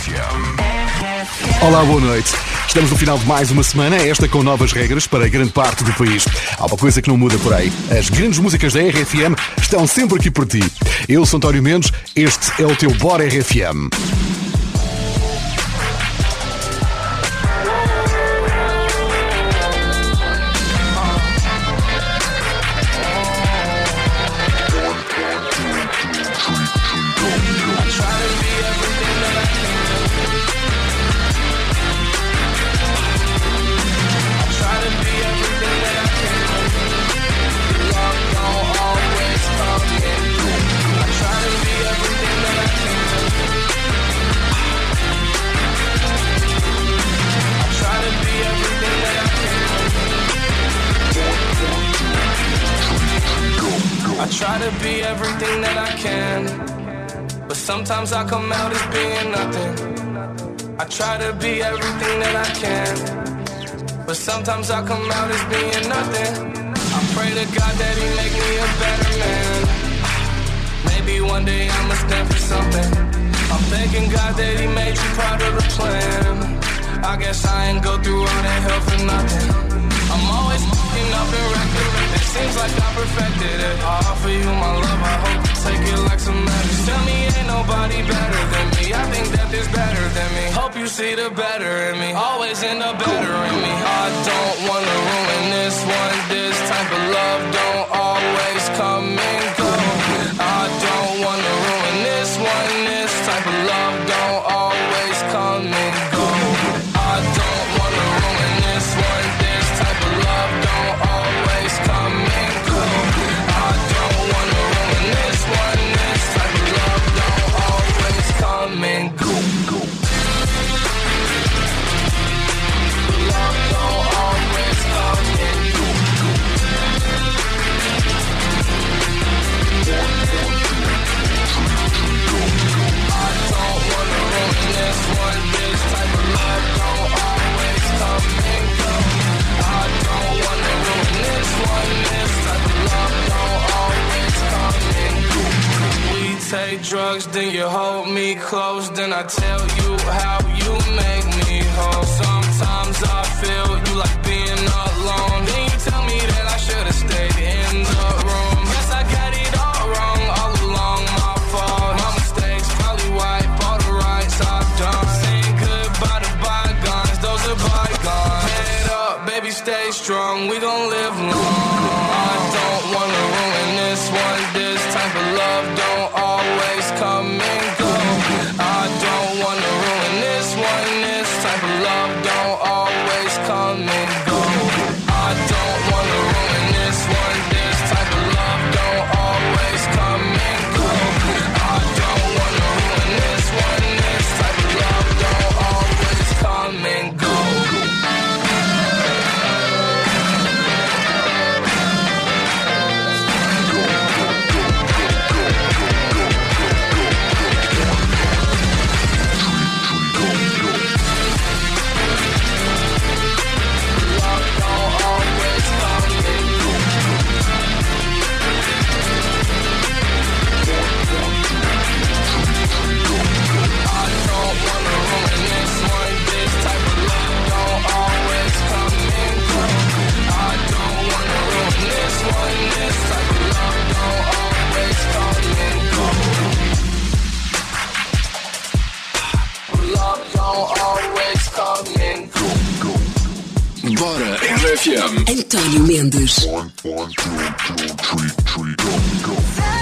Olá, boa noite. Estamos no final de mais uma semana, esta com novas regras para grande parte do país. Há uma coisa que não muda por aí. As grandes músicas da RFM estão sempre aqui por ti. Eu sou António Mendes, este é o teu Bora RFM. Try to be everything that I can, but sometimes I come out as being nothing. I try to be everything that I can, but sometimes I come out as being nothing. I pray to God that He make me a better man. Maybe one day I'ma stand for something. I'm thanking God that He made you part of the plan. I guess I ain't go through all that hell for nothing. I'm always fucking up and wrecking. It seems like I perfected it. I offer you my love, I hope you take it like some medicine. Tell me ain't nobody better than me. I think that there's better than me. Hope you see the better in me. Always end up better in me. I don't wanna ruin this one. This type of love don't always come and go. I don't wanna ruin this one. This type of love don't always come and go. I don't wanna ruin this one. This type of love don't always come and go. I don't wanna ruin this one. This type of love don't always come and go. Love don't always come and go. I don't wanna ruin this one. This type of love don't always come and go. I don't wanna ruin this one. This type of love don't always come and go. We take drugs, then you hold me close, then I tell you how you make me whole. Sometimes I feel you like being alone. Then you tell me that I should've stayed in the room. Yes, I got it all wrong, all along my fault. My mistakes probably wipe all the rights I've done. Saying goodbye to bygones, those are bygones. Head up, baby, stay strong, we gon' live long. I don't wanna ruin this one. This type of love don't always come and go. I don't wanna ruin this one. This type of love don't always come and go. I don't wanna ruin this one. This type of love don't always come and go. I don't wanna ruin this one. This type of love don't always come and go. Bora RFM. António Mendes. One, two, three, go.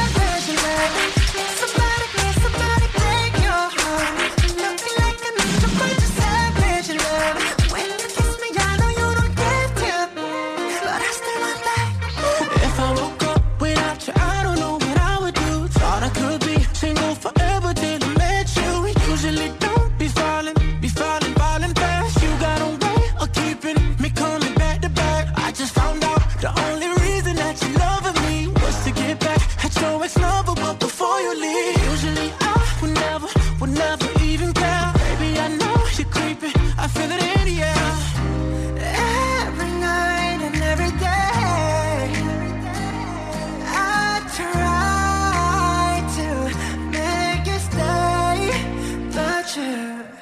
The only reason that you loving me was to get back at your ex-lover, but before you leave, usually I would never even care. Baby, I know you're creeping, I feel it in the air. Every night and every day, I try to make you stay, but you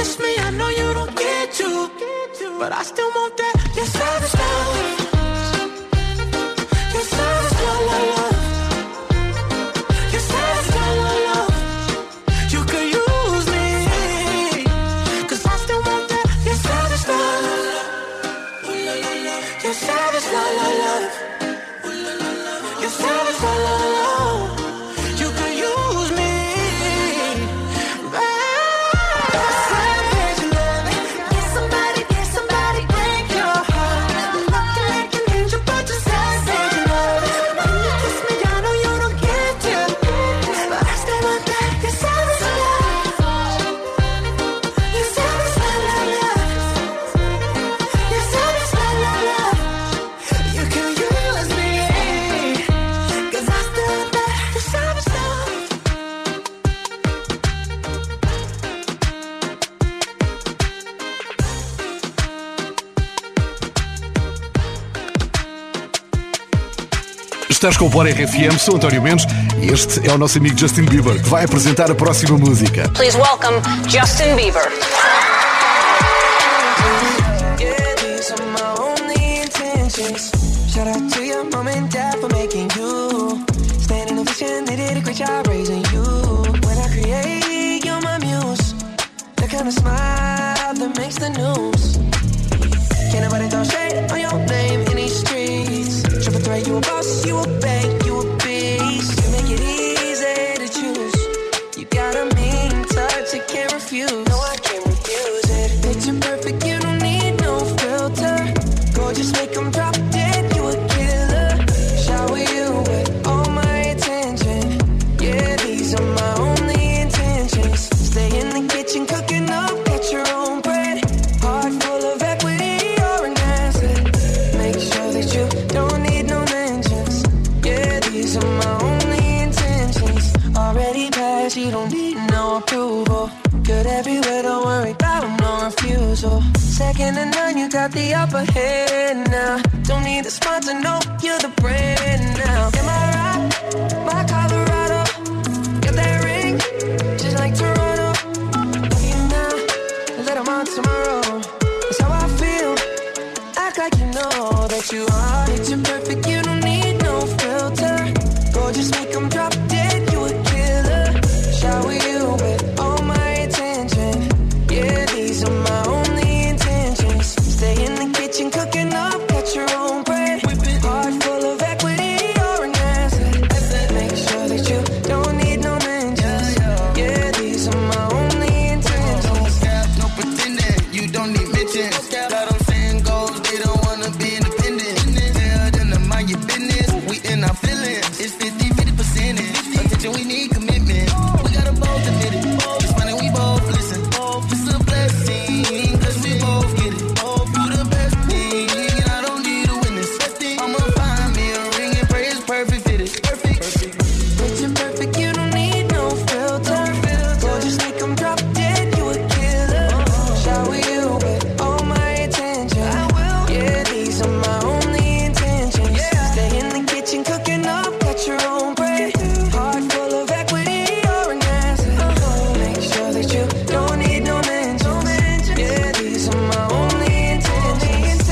kiss me, I know you don't get to, but I still want that. Your savage love. Your savage love, love. Your savage love, love. You could use me, 'cause I still want that. Your savage love. Your savage love, love. Your savage love, love. You could use me. Savage love. Get somebody break your heart. Looking like an angel, but you're savage love. When you kiss me, I know you don't get to, but I still want that. Your savage love. Your savage love, love. Your savage love, love. You can use me, 'cause I still want that. Your savage love. Estás com o Bora RFM, sou António Mendes e este é o nosso amigo Justin Bieber, que vai apresentar a próxima música. Please welcome Justin Bieber. Yeah, these are my only intentions. Shout out to your mom and dad for making you. Standing ovation, they did a great job raising you. When I create, you're my muse. The kind of smile that makes the news. Can't nobody throw shade on your name in these streets. Triple threat, you a boss, you a bank, you a beast. You make it easy to choose. You got a mean touch, I can't refuse. No, I can't refuse it. Picture perfect, you don't need no filter. Gorgeous, make them drop dead, you a killer. Shower you with all my attention. Yeah, these are my only intentions. Stay in the kitchen, cooking up, get your own bread. Heart full of equity, you're an asset. Make sure that you don't need no mentions. Yeah, these are my only intentions. Already passed, you don't need no approval. Good everywhere, don't worry about no refusal. Second to none, you got the upper hand now. Don't need the sponsor, no, you're the brand now. Am I right? My Colorado, got that ring, just like Toronto. Love you now, let 'em on tomorrow. That's how I feel. Act like you know that you are. Picture perfect, you don't need no filter. Gorgeous, make 'em drop dead, you a killer. Shower you with all my attention. Yeah, these are my only intentions. Stay in the kitchen, cooking up, got your own bread. Heart full of equity, you're an asset. Make sure that you don't need no mentions. Yeah, these are my only intentions. No pretending, you don't need mentions. Got them saying goals, they don't wanna be independent. Tell them to mind your business, we in our feelings. It's 50% attention, we need commitment. We gotta both admit it. It's funny, we both listen. It's a blessing, 'cause we both get it. You the best thing, and I don't need a witness. I'ma find me a ring and pray it's perfect fit it. Perfect. Picture perfect, you don't need no filter. Gorgeous, make 'em drop dead, you a killer. Shower you with all my attention. Yeah, these are my only intentions. Stay in the kitchen, cooking up, got your own bread. Heart full of equity, you're an asset. Make sure that you don't need no mentions. Yeah, these are my only intentions.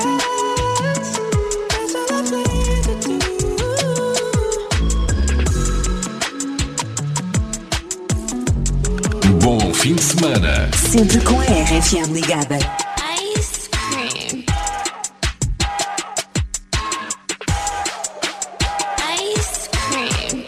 That's all I plan to do. Bom fim de semana. Sempre com a RFM ligada. Ice cream. Ice cream.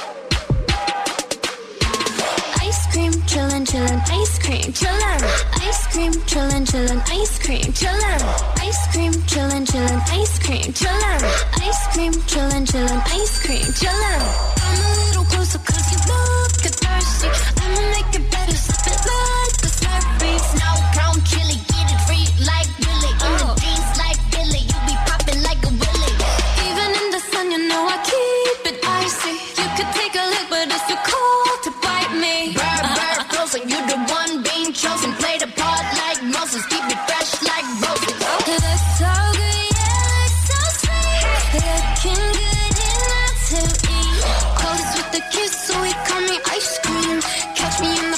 Ice cream, chillin', chillin', ice cream, chillin'. Ice cream, chillin', chillin', ice cream, chillin'. Ice cream, chillin', chillin', ice cream, chillin'. Ice cream, chillin', chillin', ice cream, chillin'. Come a little closer 'cause you look thirsty. I'ma make it better, slip it like a Slurpee. Snow cone chili, get it free like Billy. In the jeans like Billy, you be popping like a Willy. Even in the sun, you know I keep it icy. You could take a lick, but it's too cold to bite me. Bird, closer, you the one being chosen. Play the part like Moses, keep it fresh like roses. That's so good, yeah, that's so sweet. Looking good enough to eat. Close with the kiss, so he call me ice cream. Catch me in the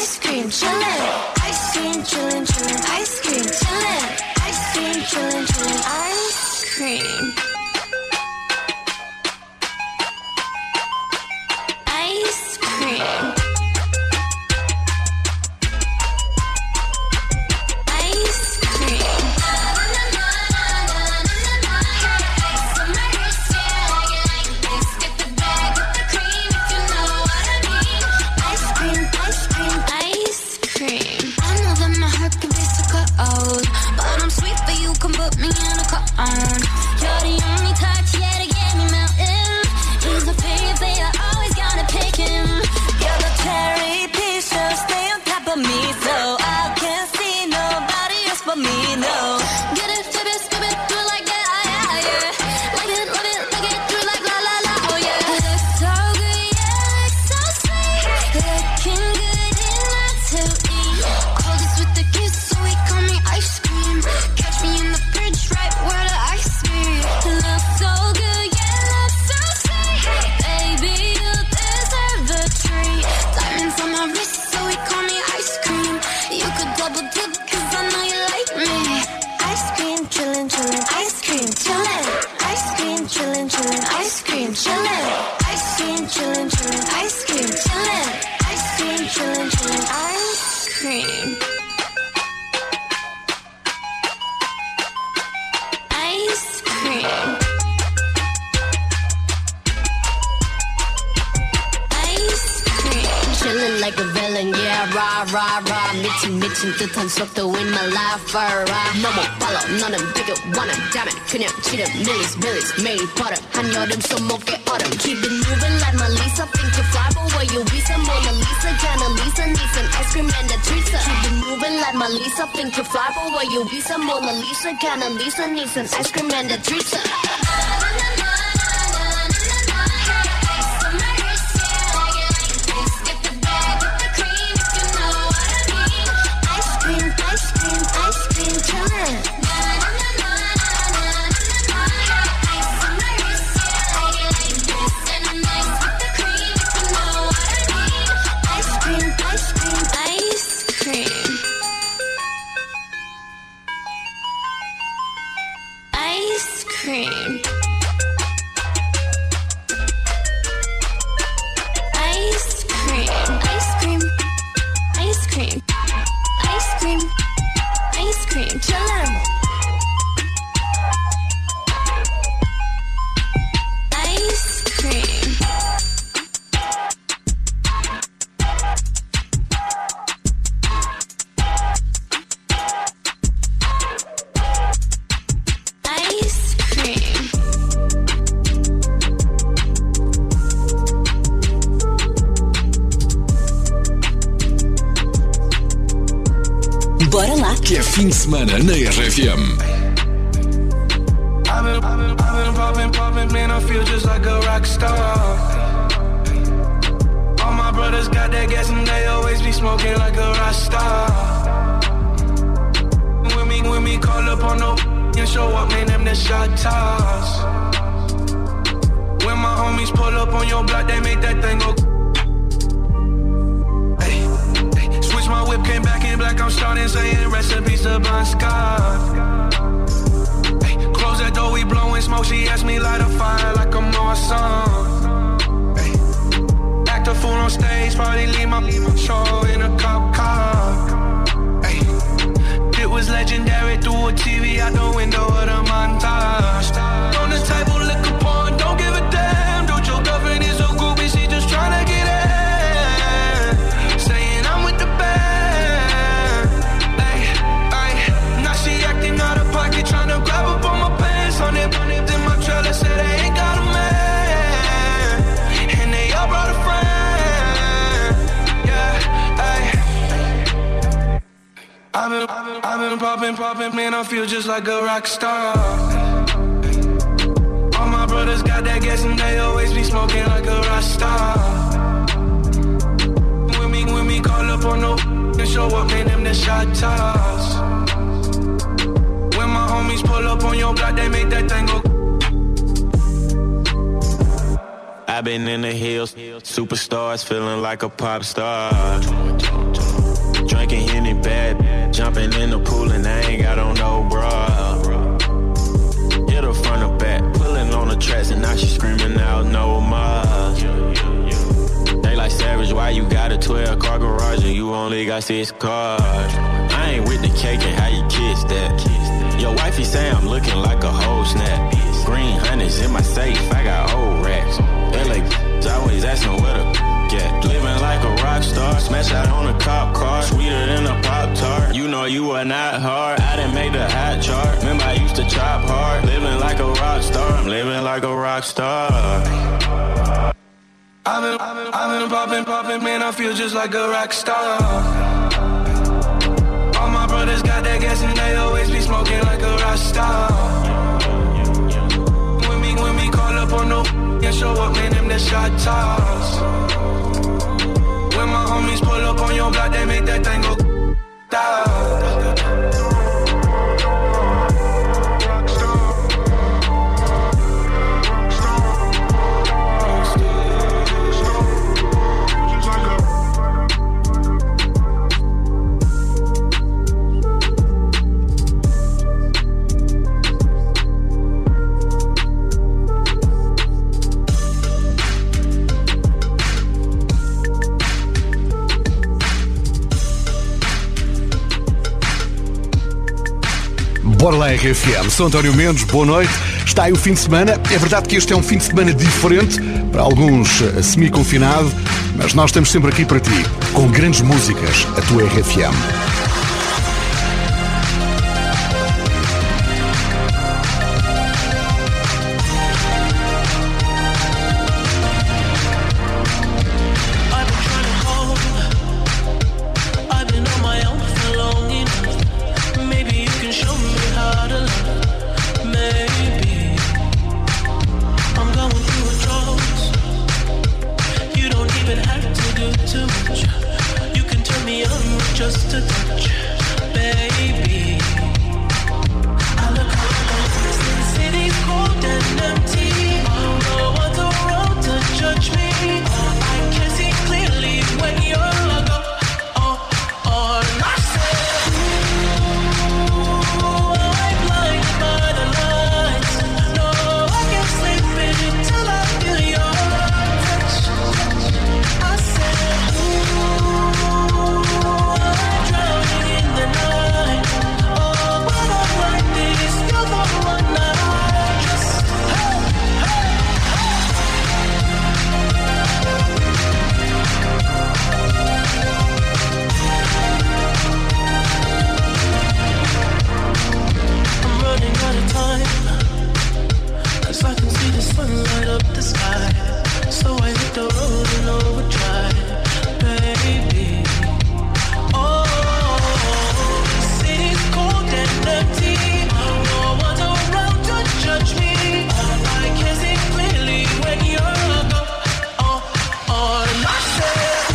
ice cream, chillin'. Ice cream, chillin', chillin', ice cream, chillin'. Ice cream, chillin', chillin', ice cream. Ice cream. But I'm sweet for you, come put me in a cone. You're the only touch, yeah, to get me melting. He's my favorite, I always gotta pick him. You're the cherry piece, so stay on top of me, so I can't see nobody else but me, no. Get it, flip it, skip it, do it like that, yeah, yeah. Like it, love it, like it, do it like la la la, oh yeah. Looks so good, yeah, looks so sweet. Looking good enough to eat. Coldest with the kiss, so we call me ice cream. Catch me in the fridge, right where the ice be. Looks so good, yeah, looks so sweet. Baby, you deserve the treat. Diamonds on my wrist, so we call me ice cream. You could double dip, cause I know you like me. Ice cream, chillin', chillin', ice cream, chillin'. Ice cream, chillin', chillin', ice cream, chillin'. Ice cream, chillin', chillin', ice cream, chillin'. Ice cream, chillin', chillin', ice cream. Ice cream. Ice cream. Chillin' like a villain, yeah, rah, rah, rah. 미친 듯한 속도인 my life, rah. 너무 빨라, 너는 되게 원한 다면 그냥 치름, millies, 매일 버릇. 한여름 손목에 얼음. Keep it moving like my Lisa, think you fly, but where you Visa, Mona Lisa, Jana Lisa, needs an ice cream and a treat. Keep it moving like my Lisa, think you fly, but where you Visa, Mona Lisa, Jana Lisa, needs an ice cream and a treat. Ice cream, chillin'. Ice cream, ice cream, ice cream. Ice cream. Ice cream. Ice cream. Ice cream. Ice cream. Ice cream, chillin'. Ice cream. Ice cream. Bora lá. Que é fim de semana na RFM. I've been popping, man, I feel just like a rock star. All my brothers got that gas and they always be smoking like a rock star. When me call up on no and show up, man, them the shot toss. When my homies pull up on your block, they make that thing go. Switch my whip, came back in black, I'm starting saying recipes to Bon Scott. Close that door, we blowing smoke, she asked me light a fire like I'm on song. Act a fool on stage, probably leave my show in a cop car. It was legendary through a TV out the window of the montage. On the table, liquor porn, don't give a damn. Dude, your girlfriend is a groupie, she just tryna get in. Saying I'm with the band. Now she acting out of pocket, tryna grab up on my pants. On it, in my trailer, say they ain't got a man. And they all brought a friend. Yeah, ayy. I've been popping, man, I feel just like a rock star. All my brothers got that gas and they always be smoking like a rock star. When me call up on no and show up, man, them the shot toss. When my homies pull up on your block, they make that thing go. I've been in the hills, superstars, feeling like a pop star. Drinking Henny bad, jumping in the pool and I ain't got on no bra. Hit her front or back, pulling on the tracks and now she screaming out no more. They like Savage, why you got a 12-car garage and you only got 6 cars? I ain't with the cake and how you kiss that. Your wifey say I'm looking like a whole snap. Green honey's in my safe, I got old racks. LA always asking where the get. Living like a rock star, smash out on a cop car, sweeter than a Pop-Tart. You know you are not hard, I done made the hot chart. Remember I used to chop hard, living like a rock star. I'm living like a rock star. I've been popping, man, I feel just like a rock star. All my brothers got that gas and they always be smoking like a rock star. When we call up on no and show up, man, them the shot toss. When my homies pull up on your block, they make that thing go down. Bora lá, RFM. Sou António Mendes, boa noite. Está aí o fim de semana. É verdade que este é um fim de semana diferente, para alguns semi-confinado, mas nós estamos sempre aqui para ti, com grandes músicas, a tua RFM. Just a touch, baby. I look around, the city's cold and empty. No one's around to judge me. I can see clearly when you're gone. I said, ooh, I'm blinded by the lights. No, I can't sleep until I feel your touch. I said, ooh, drowning in the night. Oh, when I'm like this, you're the one that I just, hey, I'm running out of time, 'cause I can see the sun light up the sky. So I hit the road in overdrive, baby. Oh, the city's cold and empty. No one's around to judge me. I can see clearly when you're gone. And I said,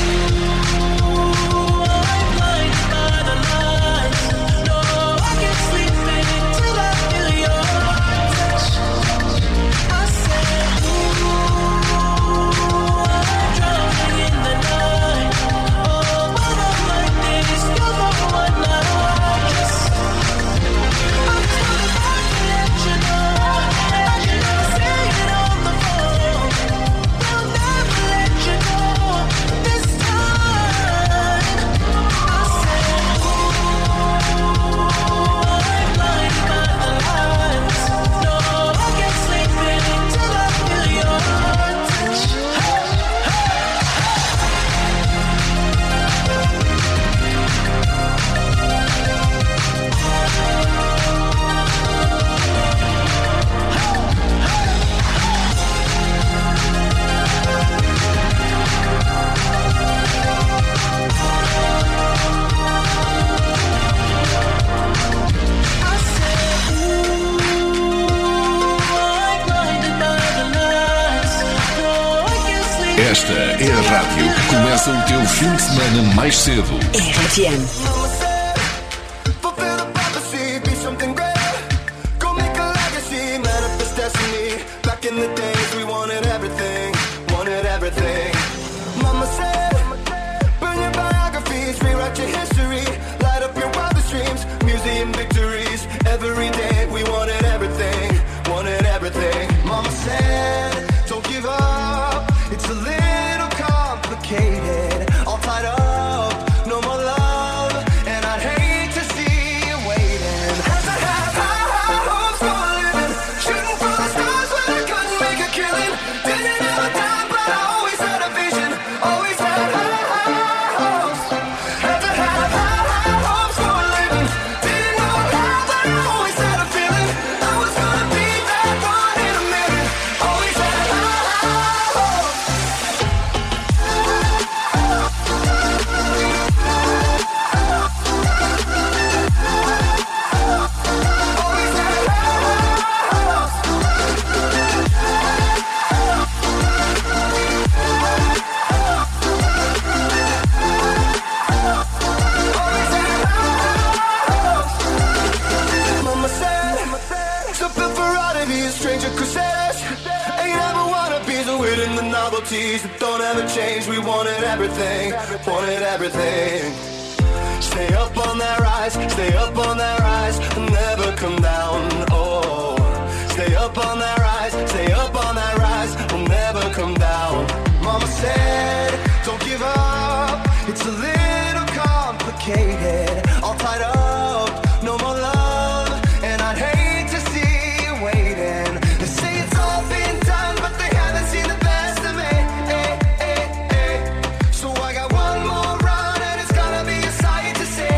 ooh, I'm blinded by the lights. No, I can't sleep until I feel your touch. I said, ooh, I'm drowning in the night. Oh, when I'm like this, you're the one that I just, I'm telling I can let you know. I can never say it on the phone. They'll never let you know this time. I said, ooh, I'm blinded by the lights. No, I can't sleep until I feel your touch. I said, ooh, I'm blinded by the lights. No, I can't sleep. Esta é a rádio que começa o teu fim de semana mais cedo. RFM. Mama said, fulfill the prophecy, be something great. Go make a legacy, manifest destiny. Back in the days we wanted everything, wanted everything. Mama said, burn your biographies, rewrite your fantasies that don't ever change. We wanted everything, wanted everything. Stay up on that rise, stay up on that rise, and never come down, oh. Stay up on that rise, stay up on that rise, we'll never come down. Mama said, don't give up, it's a little complicated. All tied up, no more love, and I'd hate to see you waiting. They say it's all been done, but they haven't seen the best of me. So I got one more run, and it's gonna be a sight to see.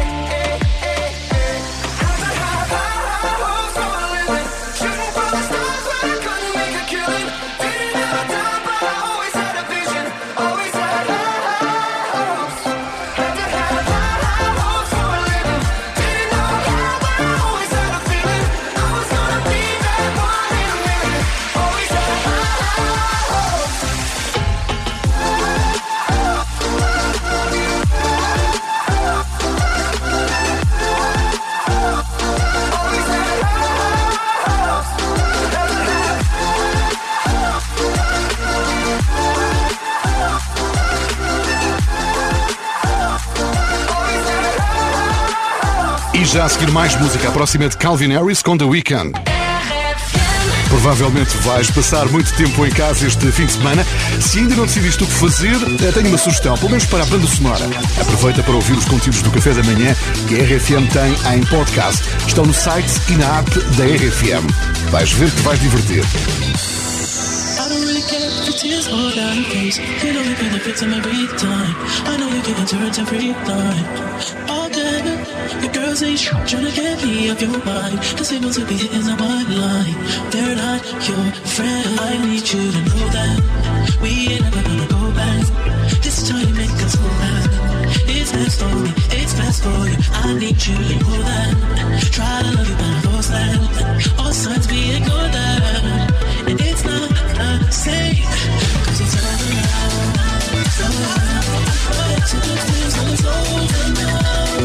Have I had high hopes for a living? Shooting for the stars, but I couldn't make a killing. Didn't have a time, but I always had a vision. Always had high hopes. Have I had high hopes for a living? Didn't know how, but I always had a feeling I was gonna be that one in a million. Always had high hopes. E já a seguir mais música. A próxima é de Calvin Harris com The Weeknd. Provavelmente vais passar muito tempo em casa este fim de semana. Se ainda não decidiste o que fazer, tenho uma sugestão, pelo menos para a banda sonora. Aproveita para ouvir os conteúdos do Café da Manhã que a RFM tem em podcast. Estão no site e na app da RFM. Vais ver que te vais divertir. I don't really care if the tears fall down your face. It only benefits them every time. I know you can endure it every time. All day, your girls ain't trying to get me off your mind. The same ones who be hitting on my line. They're not your friend. I need you to know that we ain't never gonna go back. This time you make us go back. It's best for me, it's best for you. I need you to know that. Try to love you, but I lost that. All signs we ignore that. And it's not the same, cause it's around. To the things when it's over now.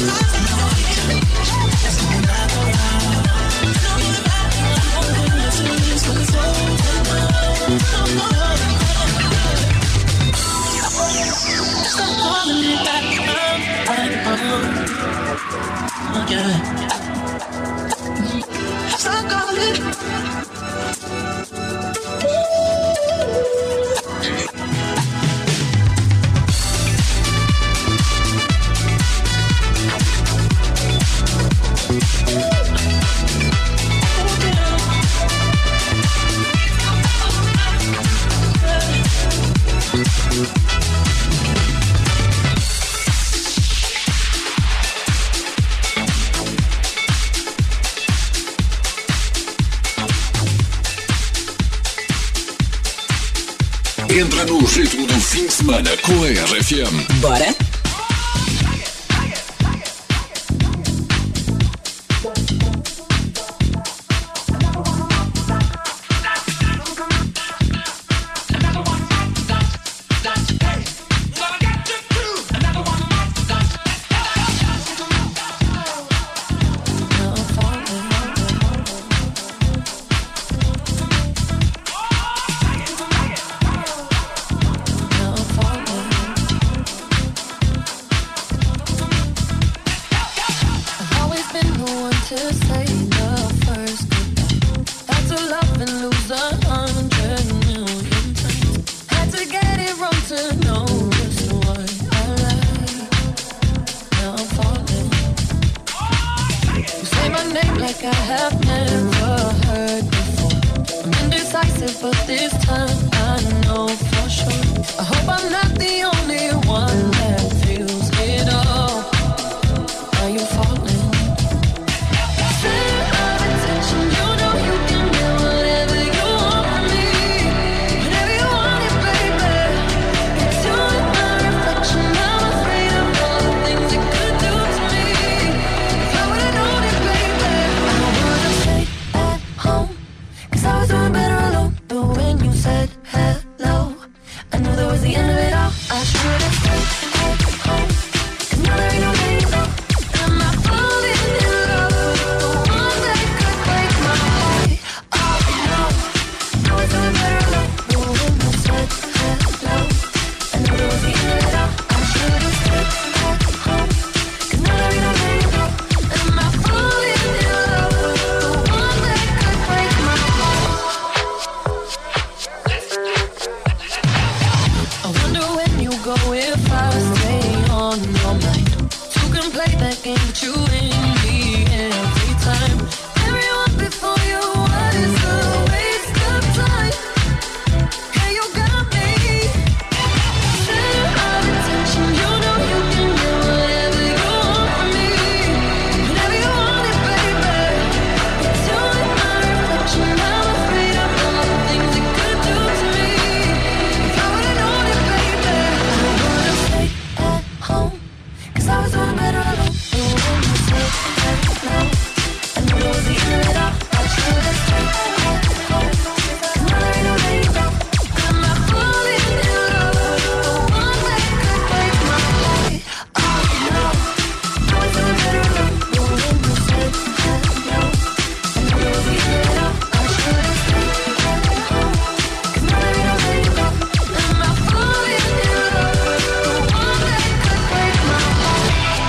It's all back around. To the things when it's over now. Stop calling me back. Yeah. Stop calling. Entra no ritmo do fim de semana com a RFM. Bora? asking, but you and me every time. Everyone before you, what is a waste of time? Yeah, you got me. Center of attention, you know you can get whatever you want from me. Whenever you want it, baby. It's you and my reflection. I'm afraid of all the things it could do to me. If I would've known it, baby, I would've stayed at home. 'Cause I was doing better alone. I knew it was the end of it all. I should've stayed at home. 'Cause now there ain't no way to go. I'm not falling in love with the one that could break my heart. Oh no, I was doing better alone. When you said no, I knew it was the end of it all. I should've stayed at home. 'Cause now there ain't no way to go. I'm not falling in love with the one that could break my heart.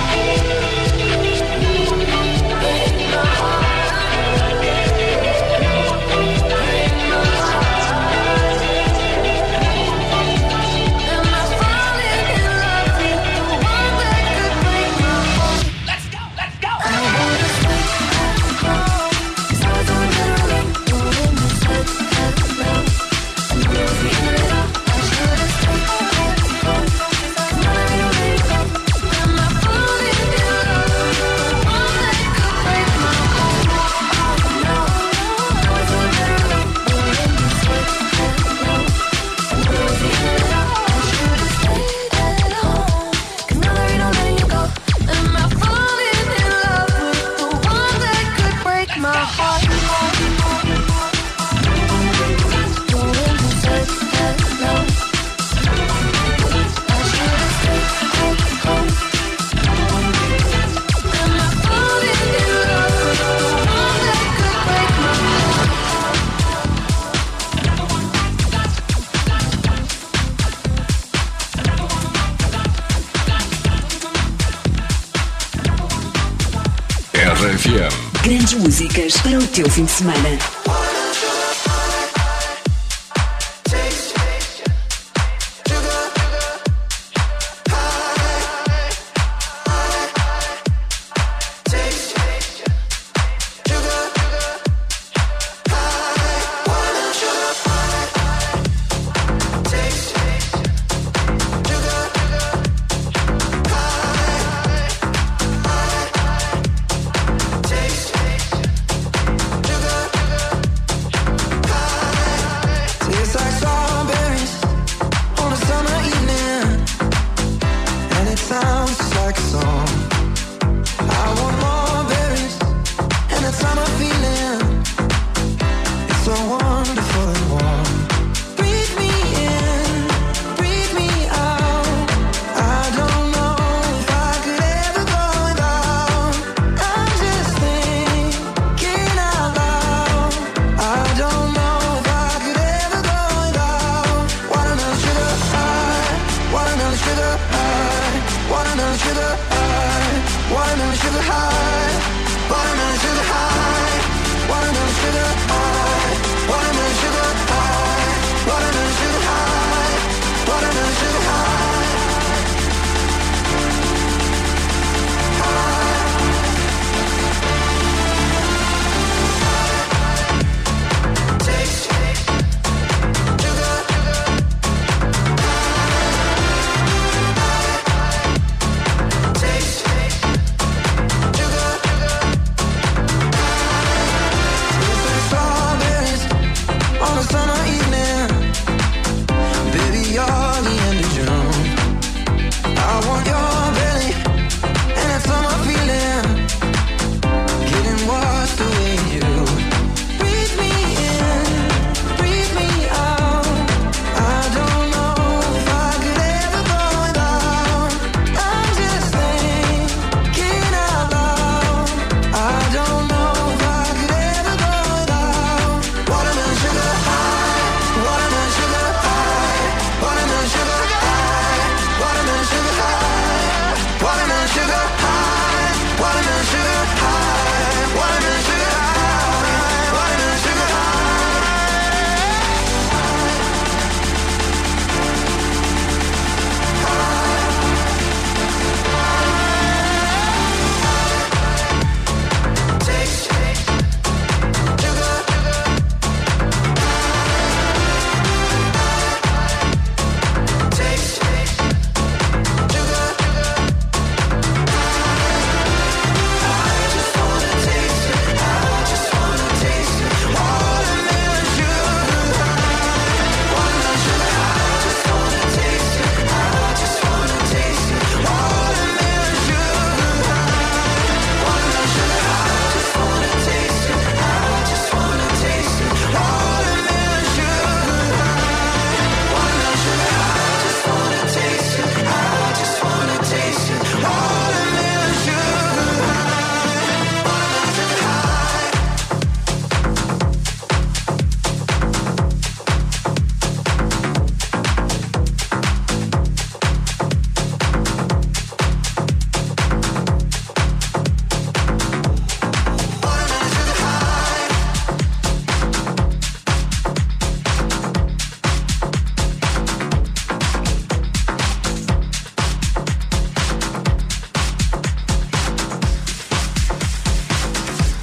RFM. Grandes músicas para o teu fim de semana. Tastes like strawberries on a summer evening, and it sounds just like a song. I want more berries and that summer feeling. It's so wonderful and warm. Breathe me in, breathe me out. I don't know if I could ever go without. I'm just thinking out loud. I don't know if I could ever go without. Watermelon sugar high, watermelon sugar high, watermelon sugar high, watermelon sugar high, watermelon sugar high, watermelon sugar high, watermelon sugar high, watermelon sugar high, watermelon sugar high. Strawberries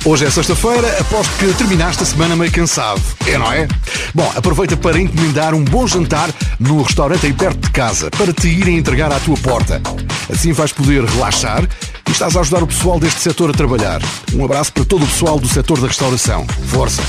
Hoje é sexta-feira, aposto que terminaste a semana meio cansado, não é? Bom, aproveita para encomendar um bom jantar no restaurante aí perto de casa, para te irem entregar à tua porta. Assim vais poder relaxar e estás a ajudar o pessoal deste setor a trabalhar. Um abraço para todo o pessoal do setor da restauração. Força!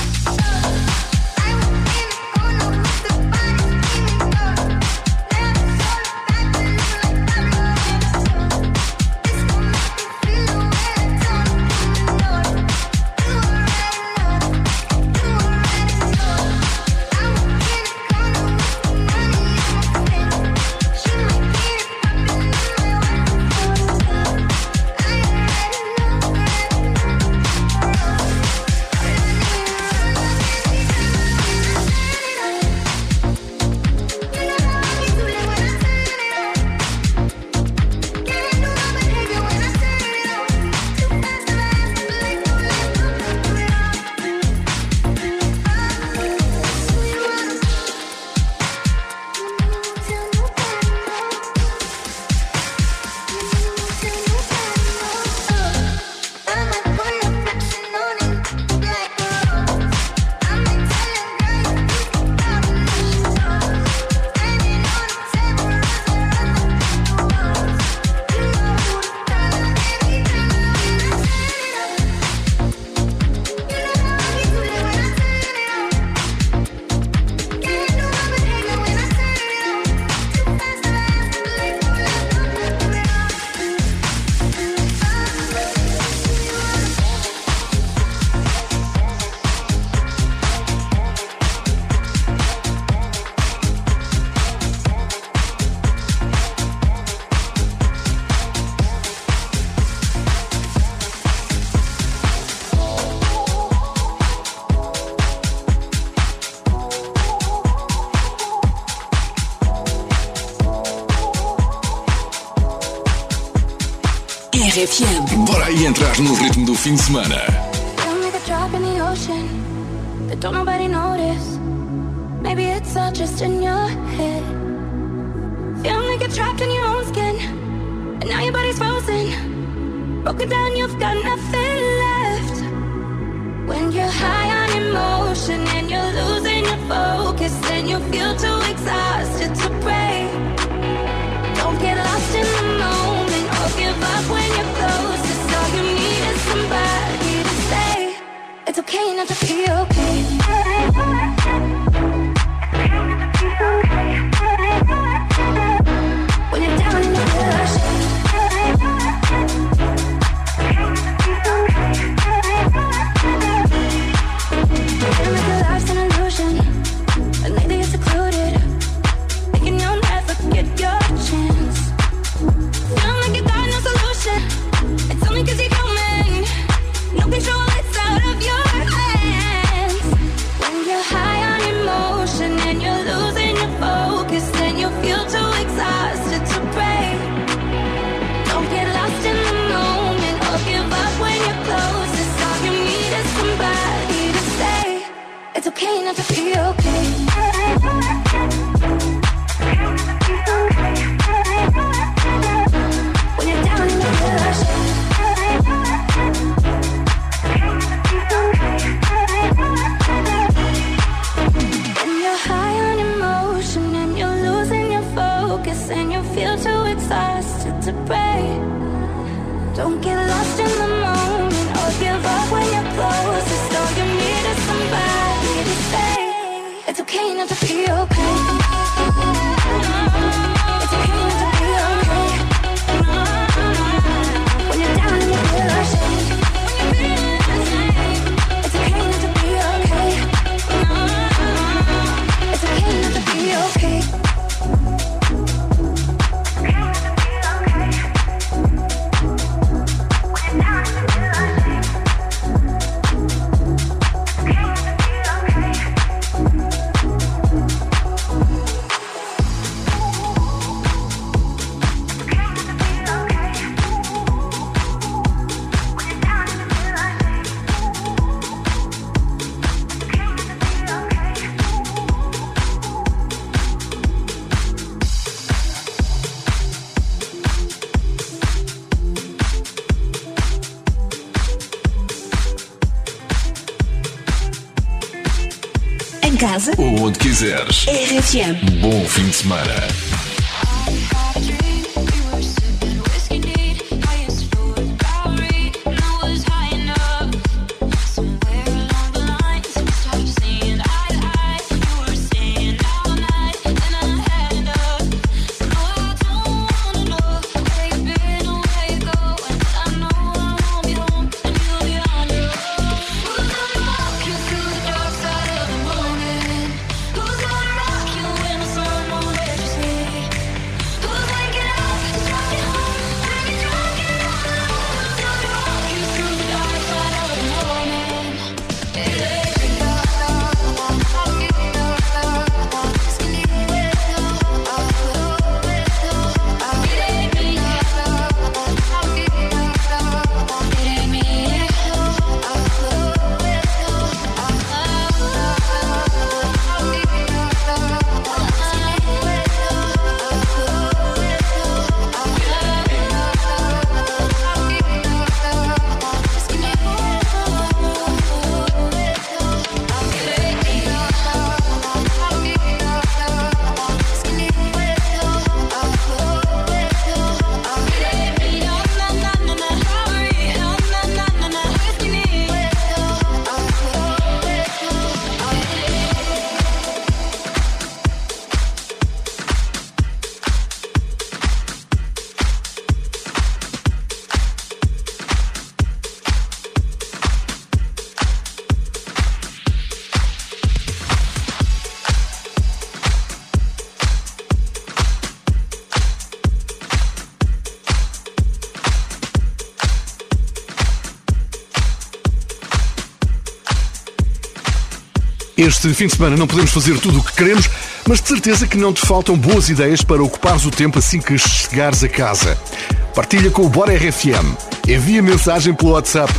RFM. Bora aí entrar no ritmo do fim de semana. Feel like a drop in the ocean that don't nobody notice. Maybe it's all just in your head. Feel like you're trapped in your own skin, and now your body's frozen. Broken down, you've got nothing left. When you're high on emotion and you're losing your focus, and you feel too exhausted to pray. Don't get lost in the moment or give up when you're closest. All you need is somebody to say it's okay not to be okay. When you're down in the rush, feeling like your life's an illusion, but lately you're secluded, thinking you'll never get your chance. Feeling like you got no solution, it's only 'cause you're human. No control, it's out of your hands. When you're high on emotion and you're losing your focus, and you feel too exhausted to pray. Don't get lost in the moment or give up when you're closest. All you need is somebody to say it's okay not to be okay. When you're down in the rush, when you're high on emotion and you're losing your focus, and you feel too exhausted to pray. Don't get lost in the moment or give up when you're closest. All you need is somebody to say it's okay not to be okay. It's okay not to be okay. When you're down in the rush, it's okay not to be okay. It's okay not to be okay. casa ou onde quiseres. RFM. Bom fim de semana. Este fim de semana não podemos fazer tudo o que queremos, mas de certeza que não te faltam boas ideias para ocupares o tempo assim que chegares a casa. Partilha com o Bora RFM. Envia mensagem pelo WhatsApp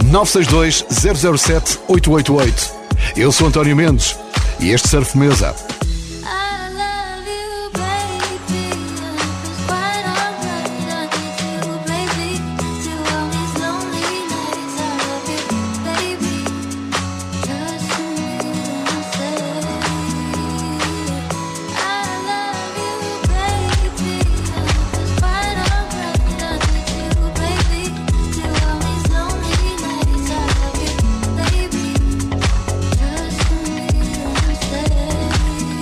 962 007 888. Eu sou António Mendes e este Surf Mesa. Baby,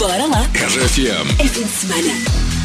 Bora lá. RFM. É fim de semana.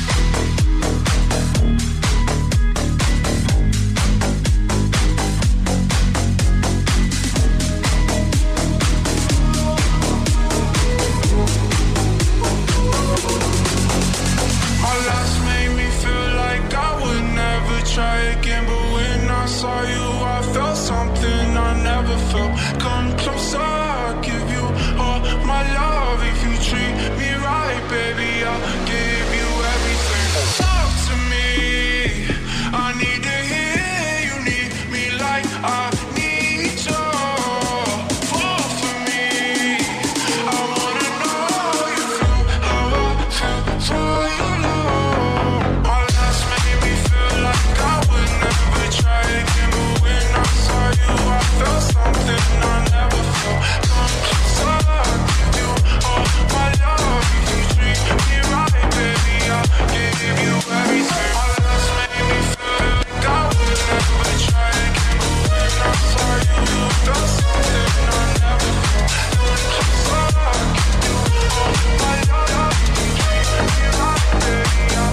Try again, but when I saw you, I felt something I never felt. Come closer, I'll give you all my love. If you treat me right, baby, I'll give you everything. Talk to me, I need to hear you need me like I need you. Fall for me, I wanna know you feel how I feel for you, Lord. Our last made me feel like I would never try again, but when I saw you, I felt something I never felt. Come closer, I'll give you all my love. If you treat me right, baby, I'll give you everything. Our last made me feel like I would never try again, but when I saw you, you felt something I never felt. Come closer, I'll give you all my love. If you treat me right, baby, I'll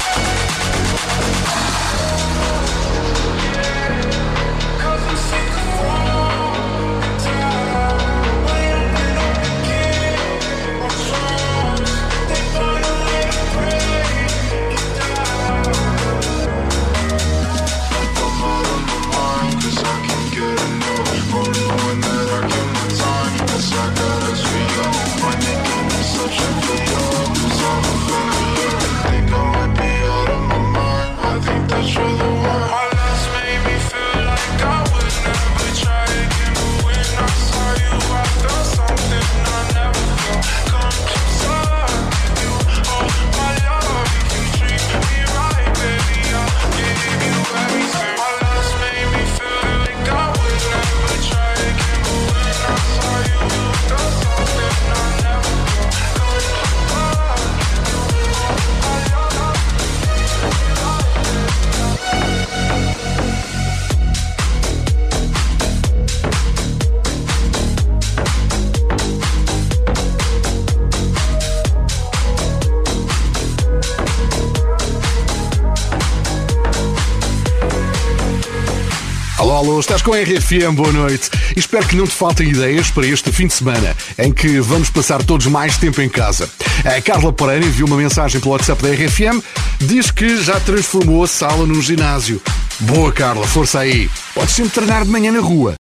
Alô, estás com a RFM, boa noite. E espero que não te faltem ideias para este fim de semana, em que vamos passar todos mais tempo em casa. A Carla Pereira enviou uma mensagem pelo WhatsApp da RFM, diz que já transformou a sala num ginásio. Boa, Carla, força aí. Podes sempre treinar de manhã na rua.